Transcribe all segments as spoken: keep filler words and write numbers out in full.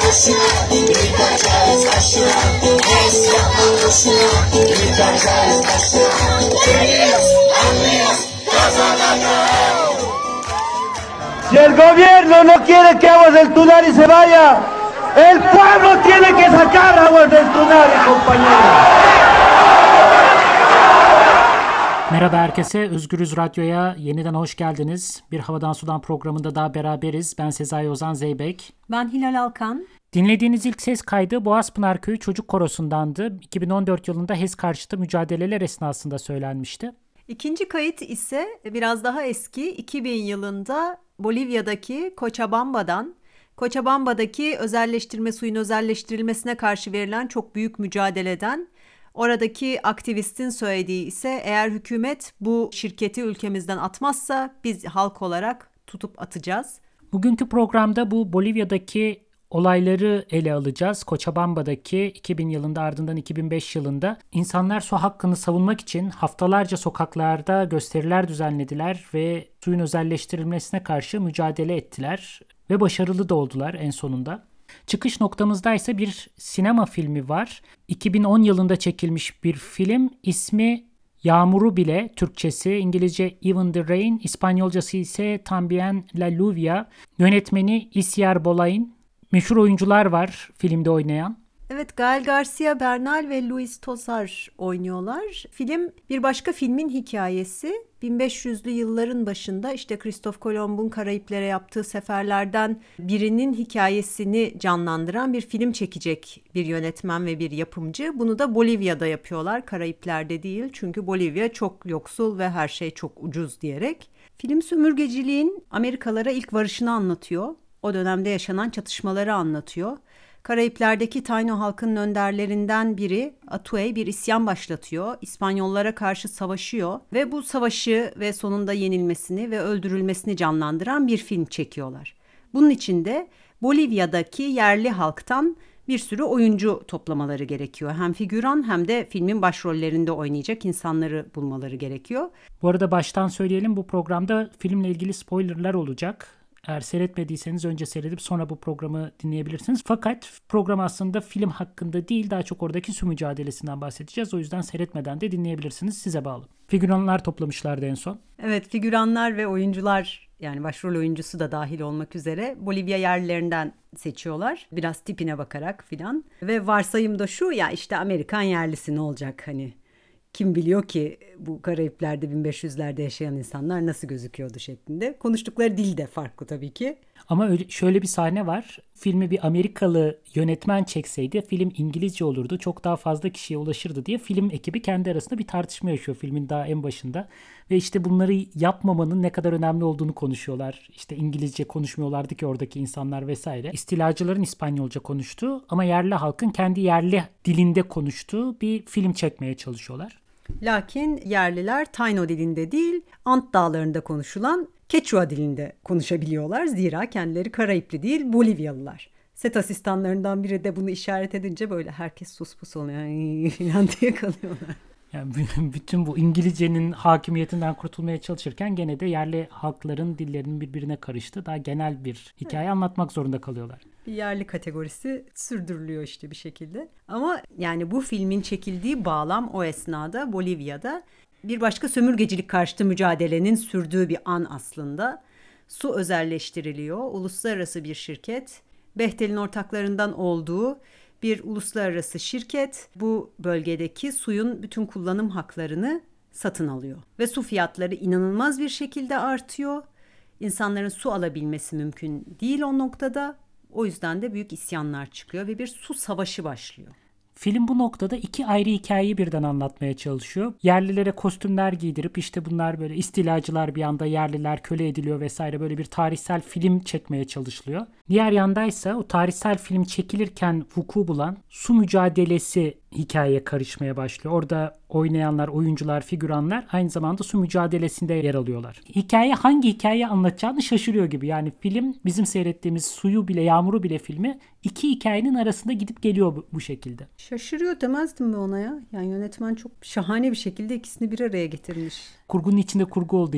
başına, yıkacağız başına. Es yapma boşuna, yıkacağız başına. Geliyoruz, anlıyoruz, kazanacağız. Si el gobierno no quiere que Aguas del Tunari se vaya, el pueblo tiene que sacar Aguas del Tunari, compañeros. Merhaba herkese, Özgürüz Radyo'ya yeniden hoş geldiniz. Bir Havadan Sudan programında daha beraberiz. Ben Sezai Ozan Zeybek. Ben Hilal Alkan. Dinlediğiniz ilk ses kaydı Boğazpınar Köyü Çocuk Korosu'ndandı. iki bin on dört yılında H E S karşıtı mücadeleler esnasında söylenmişti. İkinci kayıt ise biraz daha eski, iki bin yılında Bolivya'daki Cochabamba'dan, Cochabamba'daki özelleştirme, suyun özelleştirilmesine karşı verilen çok büyük mücadeleden, oradaki aktivistin söylediği ise eğer hükümet bu şirketi ülkemizden atmazsa biz halk olarak tutup atacağız. Bugünkü programda bu Bolivya'daki olayları ele alacağız. Cochabamba'daki iki bin yılında, ardından iki bin beş yılında insanlar su hakkını savunmak için haftalarca sokaklarda gösteriler düzenlediler ve suyun özelleştirilmesine karşı mücadele ettiler ve başarılı da oldular en sonunda. Çıkış noktamızda ise bir sinema filmi var. iki bin on yılında çekilmiş bir film. İsmi Yağmuru Bile, Türkçesi, İngilizce Even the Rain, İspanyolcası ise Tambien la Lluvia. Yönetmeni Isier Bollain. Meşhur oyuncular var filmde oynayan. Evet, Gael García Bernal ve Luis Tosar oynuyorlar. Film bir başka filmin hikayesi. bin beş yüzlü yılların başında işte Kristof Kolomb'un Karayiplere yaptığı seferlerden birinin hikayesini canlandıran bir film çekecek bir yönetmen ve bir yapımcı. Bunu da Bolivya'da yapıyorlar, Karayipler'de değil. Çünkü Bolivya çok yoksul ve her şey çok ucuz diyerek. Film sömürgeciliğin Amerikalara ilk varışını anlatıyor. O dönemde yaşanan çatışmaları anlatıyor. Karayipler'deki Taino halkının önderlerinden biri Atuey bir isyan başlatıyor. İspanyollara karşı savaşıyor ve bu savaşı ve sonunda yenilmesini ve öldürülmesini canlandıran bir film çekiyorlar. Bunun için de Bolivya'daki yerli halktan bir sürü oyuncu toplamaları gerekiyor. Hem figüran hem de filmin başrollerinde oynayacak insanları bulmaları gerekiyor. Bu arada baştan söyleyelim, bu programda filmle ilgili spoilerlar olacak. Eğer seyretmediyseniz önce seyredip sonra bu programı dinleyebilirsiniz. Fakat program aslında film hakkında değil, daha çok oradaki su mücadelesinden bahsedeceğiz. O yüzden seyretmeden de dinleyebilirsiniz. Size bağlı. Figüranlar toplamışlardı en son. Evet, figüranlar ve oyuncular, yani başrol oyuncusu da dahil olmak üzere Bolivya yerlilerinden seçiyorlar. Biraz tipine bakarak filan. Ve varsayım da şu, ya işte Amerikan yerlisi ne olacak hani? Kim biliyor ki bu Karayipler'de bin beş yüzlerde yaşayan insanlar nasıl gözüküyordu şeklinde. Konuştukları dil de farklı tabii ki. Ama öyle, şöyle bir sahne var. Filmi bir Amerikalı yönetmen çekseydi film İngilizce olurdu. Çok daha fazla kişiye ulaşırdı diye film ekibi kendi arasında bir tartışma yaşıyor filmin daha en başında. Ve işte bunları yapmamanın ne kadar önemli olduğunu konuşuyorlar. İşte İngilizce konuşmuyorlardı ki oradaki insanlar vesaire. İstilacıların İspanyolca konuştuğu ama yerli halkın kendi yerli dilinde konuştuğu bir film çekmeye çalışıyorlar. Lakin yerliler Taino dilinde değil, Ant Dağları'nda konuşulan Quechua dilinde konuşabiliyorlar. Zira kendileri Karayipli değil, Bolivyalılar. Set asistanlarından biri de bunu işaret edince böyle herkes sus pus oluyor falan diye kalıyorlar. Yani bütün bu İngilizcenin hakimiyetinden kurtulmaya çalışırken gene de yerli halkların dillerinin birbirine karıştı. Daha genel bir hikaye evet. anlatmak zorunda kalıyorlar. Bir yerli kategorisi sürdürülüyor işte bir şekilde. Ama yani bu filmin çekildiği bağlam o esnada Bolivya'da bir başka sömürgecilik karşıtı mücadelenin sürdüğü bir an aslında. Su özelleştiriliyor. Uluslararası bir şirket, Bechtel'in ortaklarından olduğu bir uluslararası şirket bu bölgedeki suyun bütün kullanım haklarını satın alıyor. Ve su fiyatları inanılmaz bir şekilde artıyor. İnsanların su alabilmesi mümkün değil o noktada. O yüzden de büyük isyanlar çıkıyor ve bir su savaşı başlıyor. Film bu noktada iki ayrı hikayeyi birden anlatmaya çalışıyor. Yerlilere kostümler giydirip işte bunlar böyle istilacılar, bir anda yerliler köle ediliyor vesaire, böyle bir tarihsel film çekmeye çalışılıyor. Diğer yandaysa o tarihsel film çekilirken vuku bulan su mücadelesi hikayeye karışmaya başlıyor. Orada oynayanlar, oyuncular, figüranlar aynı zamanda su mücadelesinde yer alıyorlar. Hikaye hangi hikayeyi anlatacağını şaşırıyor gibi. Yani film bizim seyrettiğimiz Suyu Bile, Yağmuru Bile filmi iki hikayenin arasında gidip geliyor bu, bu şekilde. Şaşırıyor demezdim mi ona ya? Yani yönetmen çok şahane bir şekilde ikisini bir araya getirmiş. Kurgunun içinde kurgu olduğu için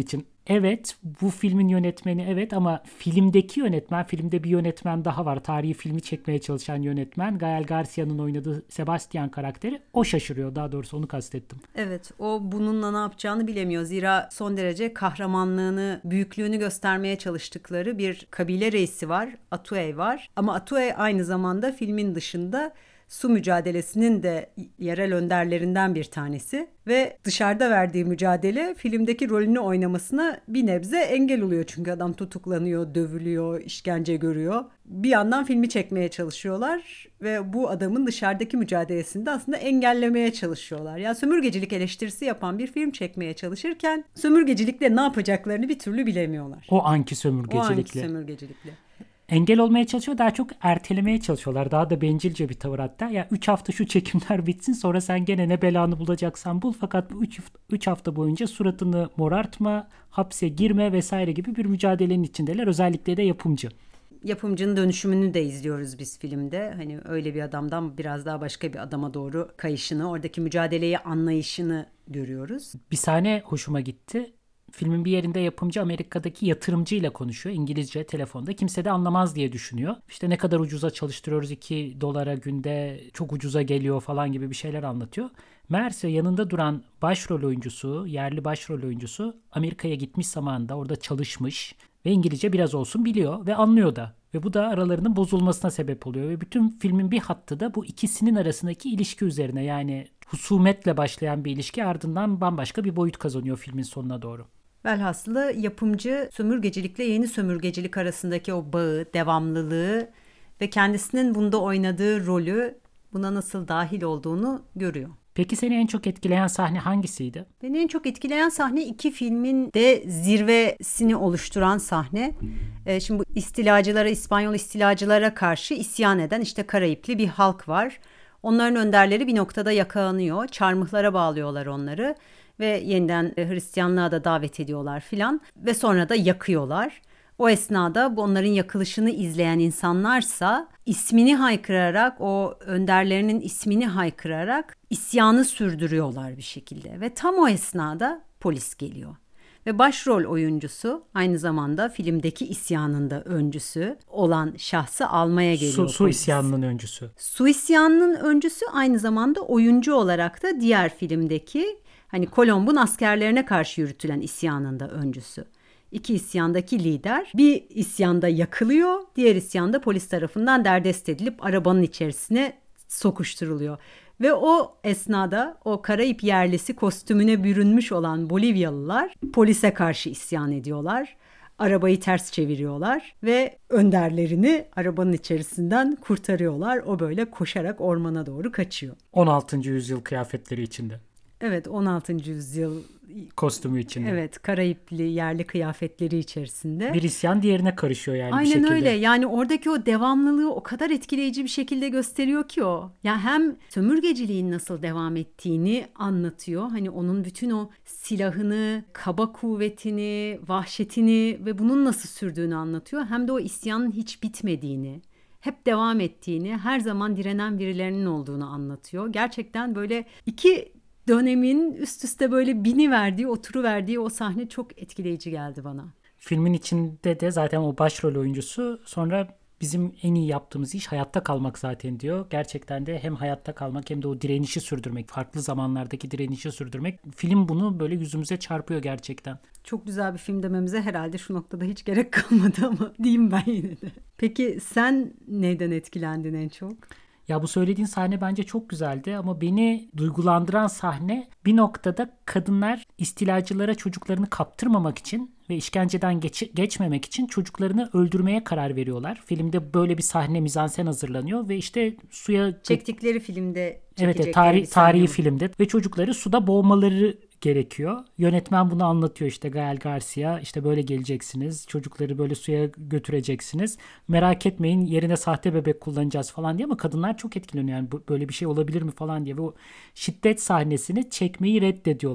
evet, bu filmin yönetmeni evet, ama filmdeki yönetmen, filmde bir yönetmen daha var. Tarihi filmi çekmeye çalışan yönetmen. Gael Garcia'nın oynadığı Sebastian karakteri. O şaşırıyor, daha doğrusu onu kastettim. Evet, o bununla ne yapacağını bilemiyor. Zira son derece kahramanlığını, büyüklüğünü göstermeye çalıştıkları bir kabile reisi var. Atuey var. Ama Atuey aynı zamanda filmin dışında su mücadelesinin de yerel önderlerinden bir tanesi ve dışarıda verdiği mücadele filmdeki rolünü oynamasına bir nebze engel oluyor. Çünkü adam tutuklanıyor, dövülüyor, işkence görüyor. Bir yandan filmi çekmeye çalışıyorlar ve bu adamın dışarıdaki mücadelesini de aslında engellemeye çalışıyorlar. Yani sömürgecilik eleştirisi yapan bir film çekmeye çalışırken sömürgecilikle ne yapacaklarını bir türlü bilemiyorlar. O anki O sömürgecilikle. anki sömürgecilikle. Engel olmaya çalışıyor, daha çok ertelemeye çalışıyorlar. Daha da bencilce bir tavır hatta. Ya üç hafta şu çekimler bitsin, sonra sen gene ne belanı bulacaksan bul. Fakat bu üç hafta boyunca suratını morartma, hapse girme vesaire gibi bir mücadelenin içindeler. Özellikle de yapımcı. Yapımcının dönüşümünü de izliyoruz biz filmde. Hani öyle bir adamdan biraz daha başka bir adama doğru kayışını, oradaki mücadeleyi anlayışını görüyoruz. Bir sahne hoşuma gitti. Filmin bir yerinde yapımcı Amerika'daki yatırımcıyla konuşuyor. İngilizce, telefonda. Kimse de anlamaz diye düşünüyor. İşte ne kadar ucuza çalıştırıyoruz, iki dolara günde çok ucuza geliyor falan gibi bir şeyler anlatıyor. Meğerse yanında duran başrol oyuncusu, yerli başrol oyuncusu Amerika'ya gitmiş zamanında, orada çalışmış ve İngilizce biraz olsun biliyor ve anlıyor da. Ve bu da aralarının bozulmasına sebep oluyor. Ve bütün filmin bir hattı da bu ikisinin arasındaki ilişki üzerine. Yani husumetle başlayan bir ilişki ardından bambaşka bir boyut kazanıyor filmin sonuna doğru. Velhasılı yapımcı sömürgecilikle yeni sömürgecilik arasındaki o bağı, devamlılığı ve kendisinin bunda oynadığı rolü, buna nasıl dahil olduğunu görüyor. Peki seni en çok etkileyen sahne hangisiydi? Beni en çok etkileyen sahne iki filmin de zirvesini oluşturan sahne. Ee, şimdi bu istilacılara, İspanyol istilacılara karşı isyan eden işte Karayipli bir halk var. Onların önderleri bir noktada yakalanıyor. Çarmıhlara bağlıyorlar onları ve yeniden Hristiyanlığa da davet ediyorlar filan ve sonra da yakıyorlar. O esnada bu onların yakılışını izleyen insanlarsa ismini haykırarak, o önderlerinin ismini haykırarak isyanı sürdürüyorlar bir şekilde. Ve tam o esnada polis geliyor. Ve başrol oyuncusu aynı zamanda filmdeki isyanın da öncüsü olan şahsı almaya geliyor. Su, su isyanının öncüsü. Su isyanının öncüsü aynı zamanda oyuncu olarak da diğer filmdeki hani Kolomb'un askerlerine karşı yürütülen isyanın da öncüsü. İki isyandaki lider bir isyanda yakılıyor, diğer isyanda polis tarafından derdest edilip arabanın içerisine sokuşturuluyor. Ve o esnada o Karayip yerlisi kostümüne bürünmüş olan Bolivyalılar polise karşı isyan ediyorlar. Arabayı ters çeviriyorlar ve önderlerini arabanın içerisinden kurtarıyorlar. O böyle koşarak ormana doğru kaçıyor. on altıncı yüzyıl kıyafetleri içinde. Evet, on altıncı yüzyıl kostümü içinde. Evet, Karayipli yerli kıyafetleri içerisinde. Bir isyan diğerine karışıyor yani Aynen bir şekilde. öyle. Yani oradaki o devamlılığı o kadar etkileyici bir şekilde gösteriyor ki o. Yani hem sömürgeciliğin nasıl devam ettiğini anlatıyor. Hani onun bütün o silahını, kaba kuvvetini, vahşetini ve bunun nasıl sürdüğünü anlatıyor. Hem de o isyanın hiç bitmediğini, hep devam ettiğini, her zaman direnen birilerinin olduğunu anlatıyor. Gerçekten böyle iki dönemin üst üste böyle bini verdiği, oturu verdiği o sahne çok etkileyici geldi bana. Filmin içinde de zaten o başrol oyuncusu sonra bizim en iyi yaptığımız iş hayatta kalmak zaten diyor. Gerçekten de hem hayatta kalmak hem de o direnişi sürdürmek, farklı zamanlardaki direnişi sürdürmek. Film bunu böyle yüzümüze çarpıyor gerçekten. Çok güzel bir film dememize herhalde şu noktada hiç gerek kalmadı ama diyeyim ben yine de. Peki sen neyden etkilendin en çok? Ya bu söylediğin sahne bence çok güzeldi ama beni duygulandıran sahne bir noktada kadınlar istilacılara çocuklarını kaptırmamak için ve işkenceden geç, geçmemek için çocuklarını öldürmeye karar veriyorlar. Filmde böyle bir sahne mizansen hazırlanıyor ve işte suya... Çektikleri filmde Evet, evet tarih, tarihi filmde ve çocukları suda boğmaları gerekiyor. Yönetmen bunu anlatıyor işte Gael Garcia, işte böyle geleceksiniz, çocukları böyle suya götüreceksiniz. Merak etmeyin yerine sahte bebek kullanacağız falan diye ama kadınlar çok etkileniyor. Yani böyle bir şey olabilir mi falan diye. Ve o şiddet sahnesini çekmeyi reddediyorlar.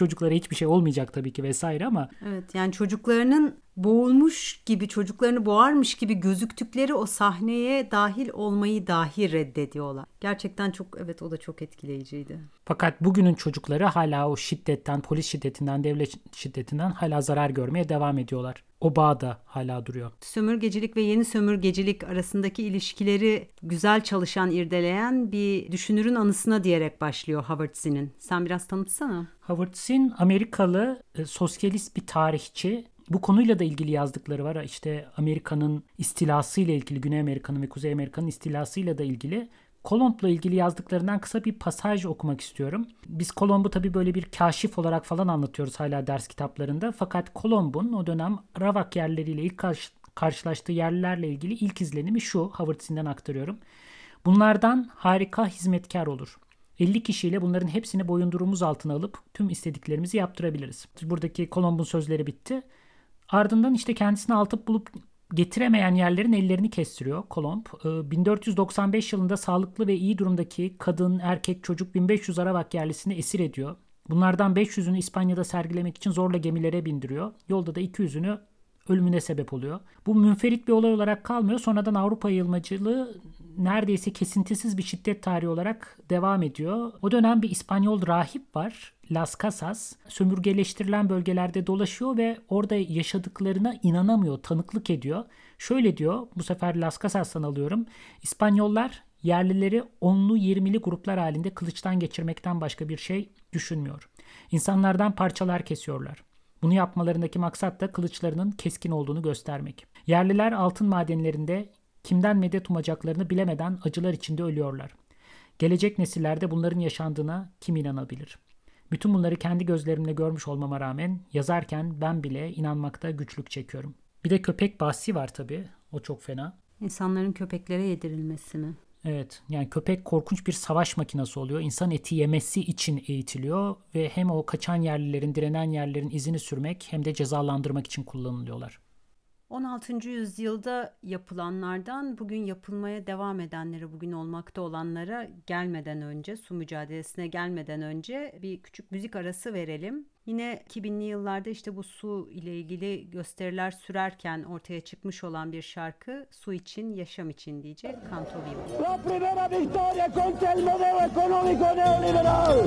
Çocuklara hiçbir şey olmayacak tabii ki vesaire ama. Evet, yani çocuklarının boğulmuş gibi, çocuklarını boğarmış gibi gözüktükleri o sahneye dahil olmayı dahi reddediyorlar. Gerçekten çok, evet, o da çok etkileyiciydi. Fakat bugünün çocukları hala o şiddetten, polis şiddetinden, devlet şiddetinden hala zarar görmeye devam ediyorlar. O bağ da hala duruyor. Sömürgecilik ve yeni sömürgecilik arasındaki ilişkileri güzel çalışan, irdeleyen bir düşünürün anısına diyerek başlıyor Howard Zinn'in. Sen biraz tanıtsana. Howard Zinn Amerikalı e, sosyalist bir tarihçi. Bu konuyla da ilgili yazdıkları var. İşte Amerika'nın istilasıyla ilgili, Güney Amerika'nın ve Kuzey Amerika'nın istilasıyla da ilgili. Kolomb'la ilgili yazdıklarından kısa bir pasaj okumak istiyorum. Biz Kolomb'u tabii böyle bir kaşif olarak falan anlatıyoruz hala ders kitaplarında. Fakat Kolomb'un o dönem Arawak yerleriyle ilk karşı, karşılaştığı yerlilerle ilgili ilk izlenimi şu. Howard Zinn'den aktarıyorum. Bunlardan harika hizmetkar olur. elli kişiyle bunların hepsini boyundurumuz altına alıp tüm istediklerimizi yaptırabiliriz. Buradaki Kolomb'un sözleri bitti. Ardından işte kendisini altıp bulup getiremeyen yerlerin ellerini kestiriyor Kolomb. bin dört yüz doksan beş yılında sağlıklı ve iyi durumdaki kadın, erkek, çocuk bin beş yüz Arawak yerlisini esir ediyor. Bunlardan beş yüzünü İspanya'da sergilemek için zorla gemilere bindiriyor. Yolda da iki yüzünü ölümüne sebep oluyor. Bu münferit bir olay olarak kalmıyor. Sonradan Avrupa yayılmacılığı neredeyse kesintisiz bir şiddet tarihi olarak devam ediyor. O dönem bir İspanyol rahip var, Las Casas. Sömürgeleştirilen bölgelerde dolaşıyor ve orada yaşadıklarına inanamıyor, tanıklık ediyor. Şöyle diyor, bu sefer Las Casas'tan alıyorum. İspanyollar yerlileri onlu yirmili gruplar halinde kılıçtan geçirmekten başka bir şey düşünmüyor. İnsanlardan parçalar kesiyorlar. Bunu yapmalarındaki maksat da kılıçlarının keskin olduğunu göstermek. Yerliler altın madenlerinde kimden medet umacaklarını bilemeden acılar içinde ölüyorlar. Gelecek nesillerde bunların yaşandığına kim inanabilir? Bütün bunları kendi gözlerimle görmüş olmama rağmen yazarken ben bile inanmakta güçlük çekiyorum. Bir de köpek bahsi var tabii. O çok fena. İnsanların köpeklere yedirilmesi mi? Evet, yani köpek korkunç bir savaş makinesi oluyor. İnsan eti yemesi için eğitiliyor ve hem o kaçan yerlilerin, direnen yerlerin izini sürmek hem de cezalandırmak için kullanılıyorlar. on altıncı yüzyılda yapılanlardan bugün yapılmaya devam edenlere, bugün olmakta olanlara gelmeden önce, su mücadelesine gelmeden önce bir küçük müzik arası verelim. Yine iki binli yıllarda işte bu su ile ilgili gösteriler sürerken ortaya çıkmış olan bir şarkı, Su için, Yaşam için diyecek Canto Vivo. La primera victoria contra el modelo económico neoliberal.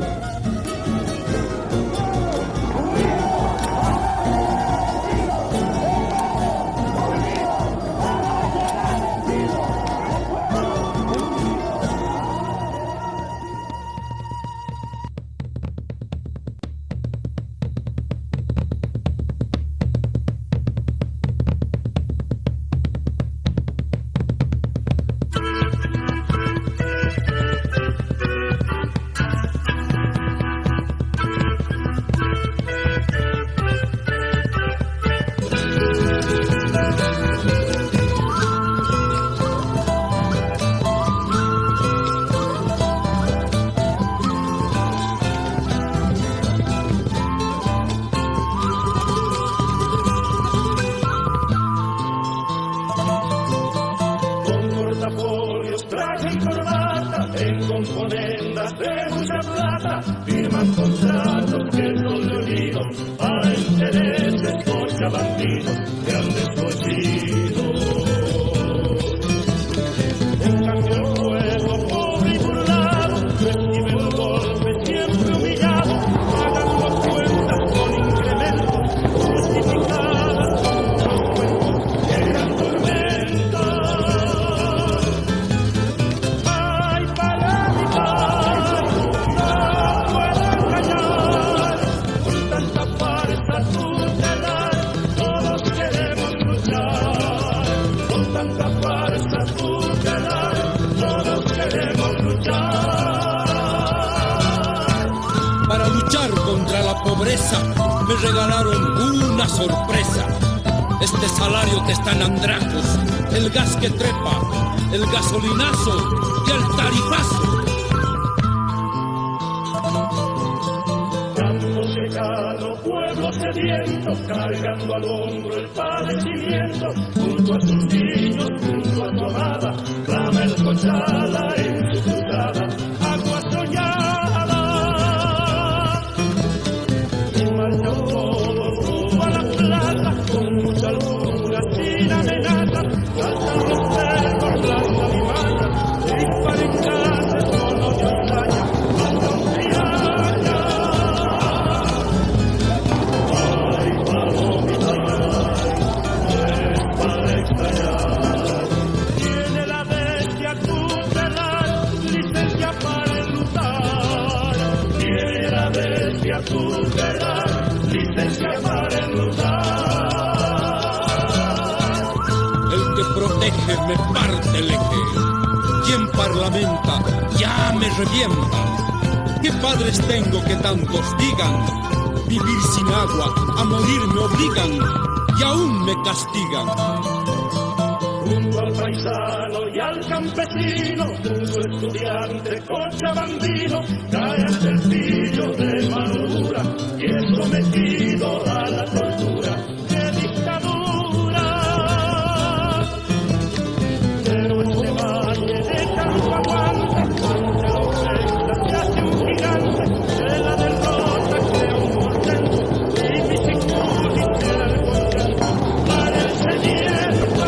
Me regalaron una sorpresa. Este salario que está en andrajos, el gas que trepa, el gasolinazo y el tarifazo. Campo secado, pueblo sediento, cargando al hombro el padecimiento, junto a tus niños, junto a tu amada, clama el Cochala en su cruzada, agua soñada. eje me parte el eje. Quien parlamenta ya me revienta. ¿Qué padres tengo que tantos digan? Vivir sin agua, a morir me obligan y aún me castigan. Junto al paisano y al campesino, junto al estudiante cochabambino, cae ante el pillo de mano dura y es sometido a la tortura de dictadura. Pero este valle de campo aguanta, ante la ofensa se hace un gigante, de la derrota crea un portento, y Pichicú quisiera el contento, para el sediento.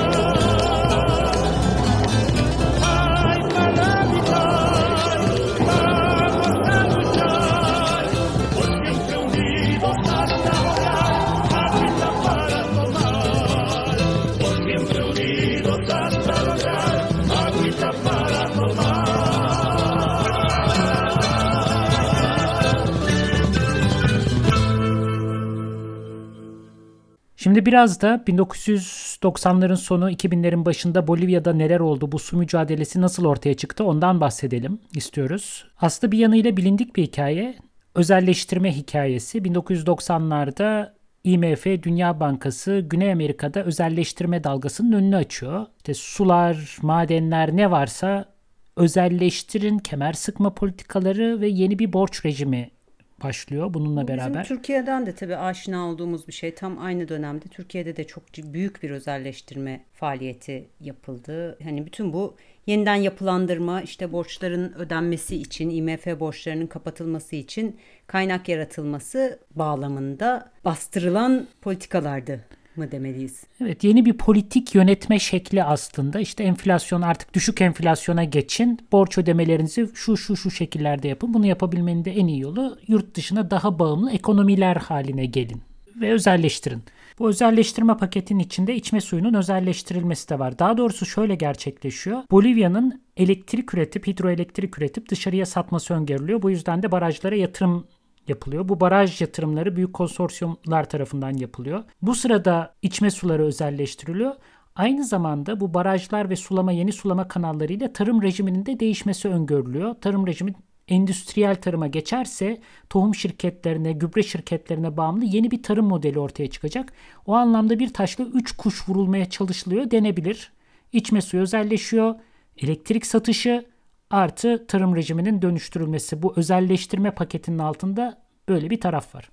Şimdi biraz da bin dokuz yüz doksanların sonu iki binlerin başında Bolivya'da neler oldu, bu su mücadelesi nasıl ortaya çıktı ondan bahsedelim istiyoruz. Aslında bir yanıyla bilindik bir hikaye. Özelleştirme hikayesi. bin dokuz yüz doksanlarda I M F, Dünya Bankası, Güney Amerika'da özelleştirme dalgasının önünü açıyor. İşte sular, madenler ne varsa özelleştirin, kemer sıkma politikaları ve yeni bir borç rejimi başlıyor bununla Bu beraber. Bizim Türkiye'den de tabii aşina olduğumuz bir şey. Tam aynı dönemde Türkiye'de de çok büyük bir özelleştirme faaliyeti yapıldı. Hani bütün bu yeniden yapılandırma, işte borçların ödenmesi için, I M F borçlarının kapatılması için kaynak yaratılması bağlamında bastırılan politikalardı mı demeliyiz? Evet, yeni bir politik yönetme şekli aslında. İşte enflasyon, artık düşük enflasyona geçin. Borç ödemelerinizi şu şu şu şekillerde yapın. Bunu yapabilmenin de en iyi yolu yurt dışına daha bağımlı ekonomiler haline gelin ve özelleştirin. Bu özelleştirme paketinin içinde içme suyunun özelleştirilmesi de var. Daha doğrusu şöyle gerçekleşiyor. Bolivya'nın elektrik üretip, hidroelektrik üretip dışarıya satması öngörülüyor. Bu yüzden de barajlara yatırım yapılıyor. Bu baraj yatırımları büyük konsorsiyumlar tarafından yapılıyor. Bu sırada içme suları özelleştiriliyor. Aynı zamanda bu barajlar ve sulama, yeni sulama kanallarıyla tarım rejiminin de değişmesi öngörülüyor. Tarım rejimi endüstriyel tarıma geçerse tohum şirketlerine, gübre şirketlerine bağımlı yeni bir tarım modeli ortaya çıkacak. O anlamda bir taşla üç kuş vurulmaya çalışılıyor denebilir. İçme suyu özelleşiyor, elektrik satışı artı tarım rejiminin dönüştürülmesi. Bu özelleştirme paketinin altında böyle bir taraf var.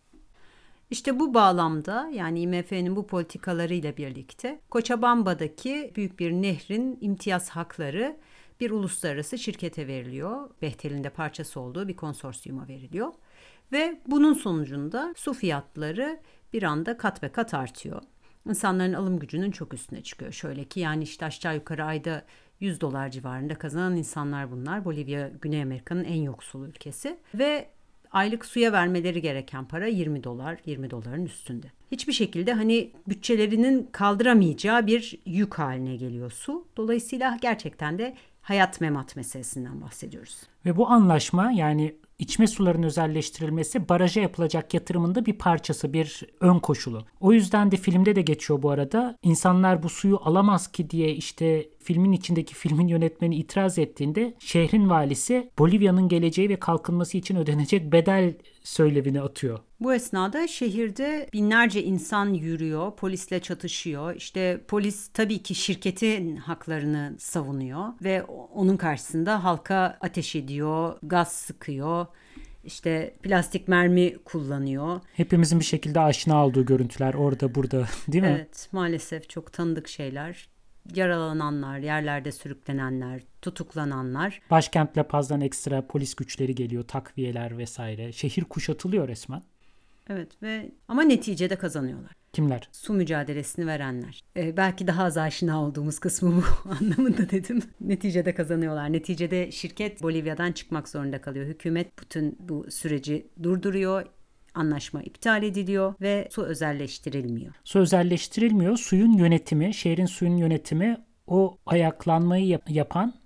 İşte bu bağlamda, yani I M F'nin bu politikalarıyla birlikte Cochabamba'daki büyük bir nehrin imtiyaz hakları bir uluslararası şirkete veriliyor. Bechtel'in de parçası olduğu bir konsorsiyuma veriliyor. Ve bunun sonucunda su fiyatları bir anda kat ve kat artıyor. İnsanların alım gücünün çok üstüne çıkıyor. Şöyle ki yani işte aşağı yukarı ayda yüz dolar civarında kazanan insanlar bunlar. Bolivya, Güney Amerika'nın en yoksul ülkesi. Ve aylık suya vermeleri gereken para yirmi dolar, yirmi doların üstünde. Hiçbir şekilde hani bütçelerinin kaldıramayacağı bir yük haline geliyor su. Dolayısıyla gerçekten de hayat memat meselesinden bahsediyoruz. Ve bu anlaşma, yani içme sularının özelleştirilmesi, baraja yapılacak yatırımın da bir parçası, bir ön koşulu. O yüzden de filmde de geçiyor bu arada. İnsanlar bu suyu alamaz ki diye işte filmin içindeki filmin yönetmeni itiraz ettiğinde şehrin valisi Bolivya'nın geleceği ve kalkınması için ödenecek bedel söylevini atıyor. Bu esnada şehirde binlerce insan yürüyor, polisle çatışıyor. İşte polis tabii ki şirketin haklarını savunuyor ve onun karşısında halka ateş ediyor, gaz sıkıyor, işte plastik mermi kullanıyor. Hepimizin bir şekilde aşina olduğu görüntüler orada burada, değil mi? Evet, maalesef çok tanıdık şeyler. Yaralananlar, yerlerde sürüklenenler, tutuklananlar. Başkent La Paz'dan ekstra polis güçleri geliyor, takviyeler vesaire. Şehir kuşatılıyor resmen. Evet ve ama neticede kazanıyorlar. Kimler? Su mücadelesini verenler. Ee, belki daha az aşina olduğumuz kısmı bu anlamında dedim. Neticede kazanıyorlar. Neticede şirket Bolivya'dan çıkmak zorunda kalıyor. Hükümet bütün bu süreci durduruyor. Anlaşma iptal ediliyor ve su özelleştirilmiyor. Su özelleştirilmiyor. Suyun yönetimi, şehrin suyun yönetimi o ayaklanmayı yap- yapan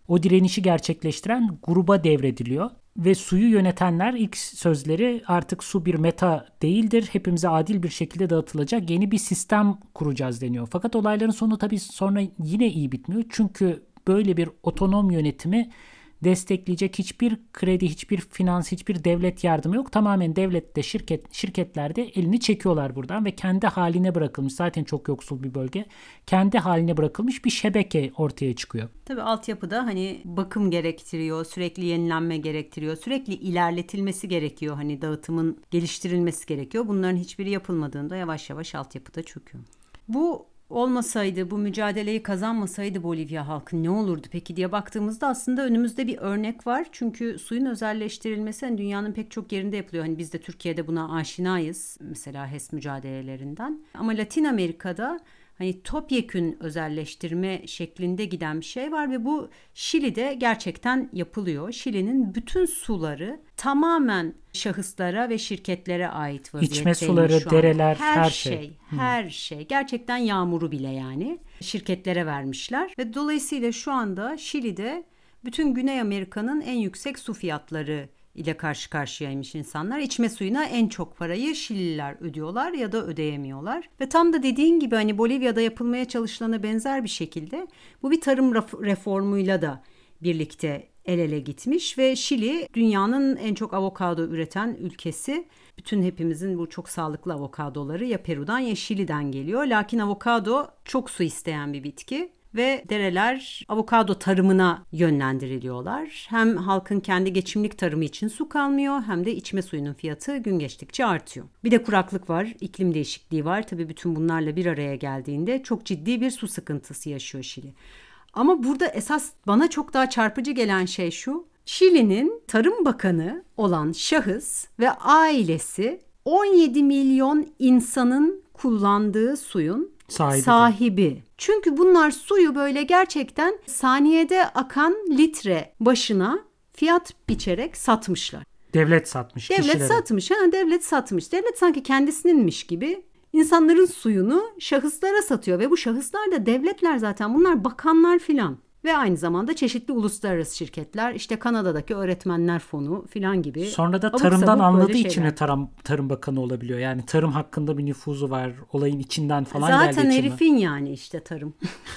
o direnişi gerçekleştiren gruba devrediliyor. Ve suyu yönetenler ilk sözleri artık su bir meta değildir, hepimize adil bir şekilde dağıtılacak yeni bir sistem kuracağız deniyor. Fakat olayların sonu tabii sonra yine iyi bitmiyor. Çünkü böyle bir otonom yönetimi destekleyecek hiçbir kredi, hiçbir finans, hiçbir devlet yardımı yok. Tamamen devlet de şirket, şirketler de elini çekiyorlar buradan ve kendi haline bırakılmış, zaten çok yoksul bir bölge, kendi haline bırakılmış bir şebeke ortaya çıkıyor. Tabii altyapıda hani bakım gerektiriyor, sürekli yenilenme gerektiriyor, sürekli ilerletilmesi gerekiyor. Hani dağıtımın geliştirilmesi gerekiyor. Bunların hiçbiri yapılmadığında yavaş yavaş altyapıda çöküyor. Bu olmasaydı, bu mücadeleyi kazanmasaydı Bolivya halkı ne olurdu peki diye baktığımızda aslında önümüzde bir örnek var. Çünkü suyun özelleştirilmesi hani dünyanın pek çok yerinde yapılıyor. Hani biz de Türkiye'de buna aşinayız. Mesela H E S mücadelelerinden. Ama Latin Amerika'da hani topyekün özelleştirme şeklinde giden bir şey var ve bu Şili'de gerçekten yapılıyor. Şili'nin bütün suları tamamen şahıslara ve şirketlere ait vaziyetteymiş. İçme suları, dereler, her, her şey. şey. Her hmm. şey. Gerçekten yağmuru bile yani şirketlere vermişler. Ve dolayısıyla şu anda Şili'de bütün Güney Amerika'nın en yüksek su fiyatları ile karşı karşıyaymış insanlar. İçme suyuna en çok parayı Şilililer ödüyorlar ya da ödeyemiyorlar. Ve tam da dediğin gibi hani Bolivya'da yapılmaya çalışılana benzer bir şekilde bu bir tarım reformuyla da birlikte el ele gitmiş ve Şili dünyanın en çok avokado üreten ülkesi. Bütün hepimizin bu çok sağlıklı avokadoları ya Peru'dan ya Şili'den geliyor. Lakin avokado çok su isteyen bir bitki. Ve dereler avokado tarımına yönlendiriliyorlar. Hem halkın kendi geçimlik tarımı için su kalmıyor hem de içme suyunun fiyatı gün geçtikçe artıyor. Bir de kuraklık var, iklim değişikliği var. Tabii bütün bunlarla bir araya geldiğinde çok ciddi bir su sıkıntısı yaşıyor Şili. Ama burada esas bana çok daha çarpıcı gelen şey şu. Şili'nin Tarım Bakanı olan şahıs ve ailesi on yedi milyon insanın kullandığı suyun sahibi. sahibi. Çünkü bunlar suyu böyle gerçekten saniyede akan litre başına fiyat biçerek satmışlar. Devlet satmış. Devlet kişilere. satmış. Ha, devlet satmış. Devlet sanki kendisininmiş gibi insanların suyunu şahıslara satıyor ve bu şahıslar da devletler zaten. Bunlar bakanlar filan. Ve aynı zamanda çeşitli uluslararası şirketler, işte Kanada'daki Öğretmenler Fonu filan gibi. Sonra da tarımdan anladığı için de tarım, tarım bakanı olabiliyor. Yani tarım hakkında bir nüfuzu var. Olayın içinden falan Zaten geldiği için. Zaten herifin yani işte tarım.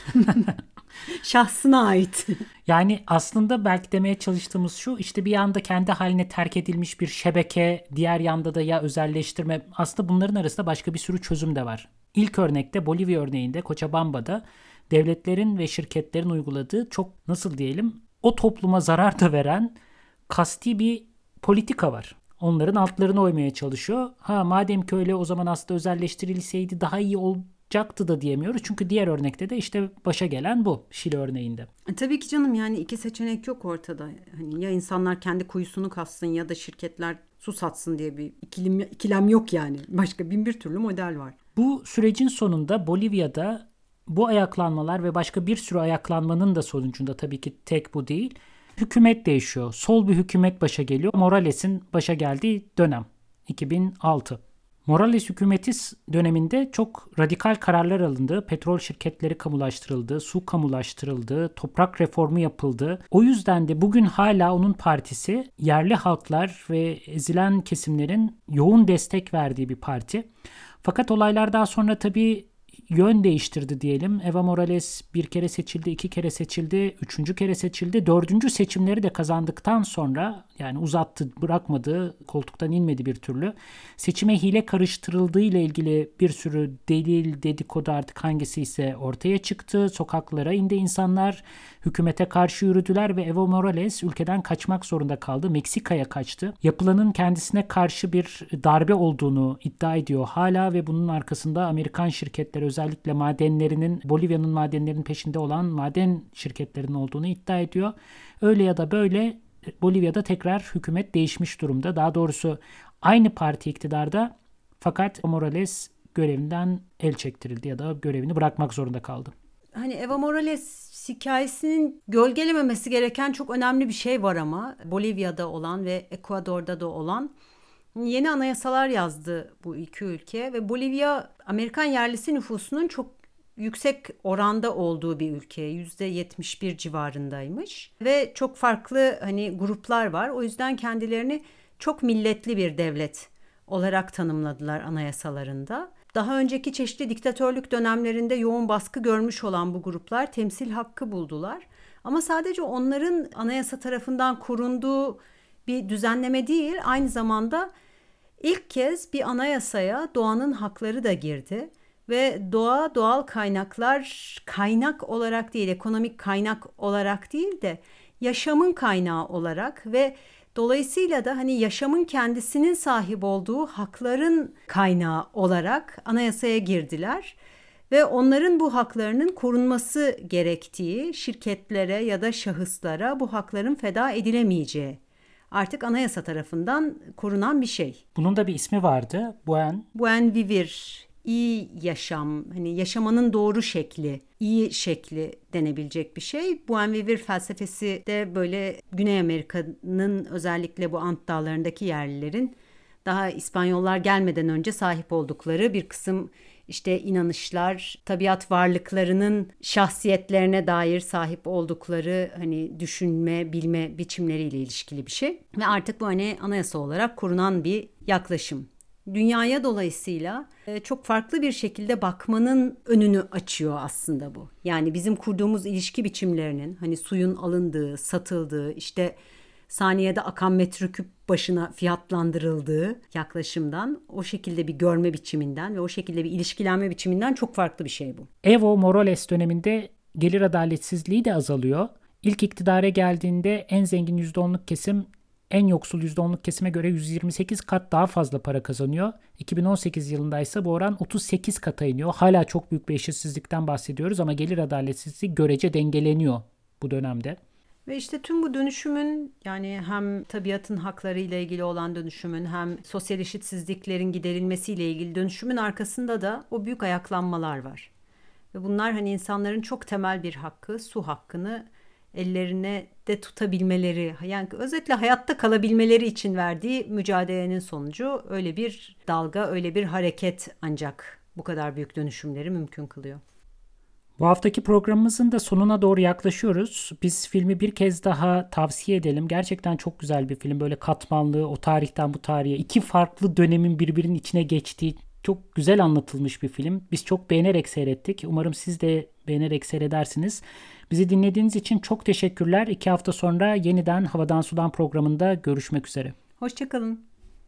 Şahsına ait. Yani aslında belki demeye çalıştığımız şu, işte bir yanda kendi haline terk edilmiş bir şebeke, diğer yanda da ya özelleştirme. Aslında bunların arasında başka bir sürü çözüm de var. İlk örnekte, Bolivya örneğinde, Cochabamba'da devletlerin ve şirketlerin uyguladığı çok, nasıl diyelim, o topluma zarar da veren kasti bir politika var. Onların altlarına oymaya çalışıyor. Ha madem ki öyle, o zaman aslında özelleştirilseydi daha iyi olacaktı da diyemiyoruz. Çünkü diğer örnekte de işte başa gelen bu, Şili örneğinde. E, tabii ki canım, yani iki seçenek yok ortada. Hani ya insanlar kendi kuyusunu kazsın ya da şirketler su satsın diye bir ikilem, ikilem yok yani. Başka bin bir türlü model var. Bu sürecin sonunda Bolivya'da bu ayaklanmalar ve başka bir sürü ayaklanmanın da sonucunda, tabii ki tek bu değil, hükümet değişiyor. Sol bir hükümet başa geliyor. Morales'in başa geldiği dönem iki bin altı. Morales hükümeti döneminde çok radikal kararlar alındı. Petrol şirketleri kamulaştırıldı, su kamulaştırıldı, toprak reformu yapıldı. O yüzden de bugün hala onun partisi yerli halklar ve ezilen kesimlerin yoğun destek verdiği bir parti. Fakat olaylar daha sonra tabii yön değiştirdi diyelim. Evo Morales bir kere seçildi, iki kere seçildi, üçüncü kere seçildi. Dördüncü seçimleri de kazandıktan sonra, yani uzattı, bırakmadı, koltuktan inmedi bir türlü. Seçime hile karıştırıldığı ile ilgili bir sürü delil, dedikodu, artık hangisi ise ortaya çıktı. Sokaklara indi insanlar, hükümete karşı yürüdüler ve Evo Morales ülkeden kaçmak zorunda kaldı. Meksika'ya kaçtı. Yapılanın kendisine karşı bir darbe olduğunu iddia ediyor hala ve bunun arkasında Amerikan şirketleri, özellikle madenlerinin, Bolivya'nın madenlerinin peşinde olan maden şirketlerinin olduğunu iddia ediyor. Öyle ya da böyle Bolivya'da tekrar hükümet değişmiş durumda. Daha doğrusu aynı parti iktidarda, fakat Morales görevinden el çektirildi ya da görevini bırakmak zorunda kaldı. Hani Evo Morales hikayesinin gölgelememesi gereken çok önemli bir şey var ama Bolivya'da olan ve Ekvador'da da olan. Yeni anayasalar yazdı bu iki ülke ve Bolivya Amerikan yerlisi nüfusunun çok yüksek oranda olduğu bir ülke. yüzde yetmiş bir civarındaymış. Ve çok farklı hani gruplar var. O yüzden kendilerini çok milletli bir devlet olarak tanımladılar anayasalarında. Daha önceki çeşitli diktatörlük dönemlerinde yoğun baskı görmüş olan bu gruplar temsil hakkı buldular. Ama sadece onların anayasa tarafından korunduğu bir düzenleme değil, aynı zamanda ilk kez bir anayasaya doğanın hakları da girdi. Ve doğa, doğal kaynaklar kaynak olarak değil, ekonomik kaynak olarak değil de yaşamın kaynağı olarak ve dolayısıyla da hani yaşamın kendisinin sahip olduğu hakların kaynağı olarak anayasaya girdiler. Ve onların bu haklarının korunması gerektiği, şirketlere ya da şahıslara bu hakların feda edilemeyeceği artık anayasa tarafından korunan bir şey. Bunun da bir ismi vardı. Buen. Buen vivir, iyi yaşam, hani yaşamanın doğru şekli, iyi şekli denebilecek bir şey. Buen vivir felsefesi de böyle Güney Amerika'nın özellikle bu Ant Dağları'ndaki yerlilerin daha İspanyollar gelmeden önce sahip oldukları bir kısım işte inanışlar, tabiat varlıklarının şahsiyetlerine dair sahip oldukları hani düşünme, bilme biçimleriyle ilişkili bir şey. Ve artık bu hani anayasa olarak korunan bir yaklaşım. Dünyaya dolayısıyla çok farklı bir şekilde bakmanın önünü açıyor aslında bu. Yani bizim kurduğumuz ilişki biçimlerinin hani suyun alındığı, satıldığı, işte saniyede akan metreküp başına fiyatlandırıldığı yaklaşımdan, o şekilde bir görme biçiminden ve o şekilde bir ilişkilenme biçiminden çok farklı bir şey bu. Evo Morales döneminde gelir adaletsizliği de azalıyor. İlk iktidara geldiğinde en zengin yüzde onluk kesim en yoksul yüzde onluk kesime göre yüz yirmi sekiz kat daha fazla para kazanıyor. iki bin on sekiz yılında ise bu oran otuz sekiz kata iniyor. Hala çok büyük bir eşitsizlikten bahsediyoruz ama gelir adaletsizliği görece dengeleniyor bu dönemde. Ve işte tüm bu dönüşümün, yani hem tabiatın hakları ile ilgili olan dönüşümün hem sosyal eşitsizliklerin giderilmesiyle ilgili dönüşümün arkasında da o büyük ayaklanmalar var. Ve bunlar hani insanların çok temel bir hakkı, su hakkını ellerine de tutabilmeleri, yani özetle hayatta kalabilmeleri için verdiği mücadelenin sonucu öyle bir dalga, öyle bir hareket ancak bu kadar büyük dönüşümleri mümkün kılıyor. Bu haftaki programımızın da sonuna doğru yaklaşıyoruz. Biz filmi bir kez daha tavsiye edelim. Gerçekten çok güzel bir film. Böyle katmanlı, o tarihten bu tarihe iki farklı dönemin birbirinin içine geçtiği çok güzel anlatılmış bir film. Biz çok beğenerek seyrettik. Umarım siz de beğenerek seyredersiniz. Bizi dinlediğiniz için çok teşekkürler. İki hafta sonra yeniden Havadan Sudan programında görüşmek üzere. Hoşçakalın.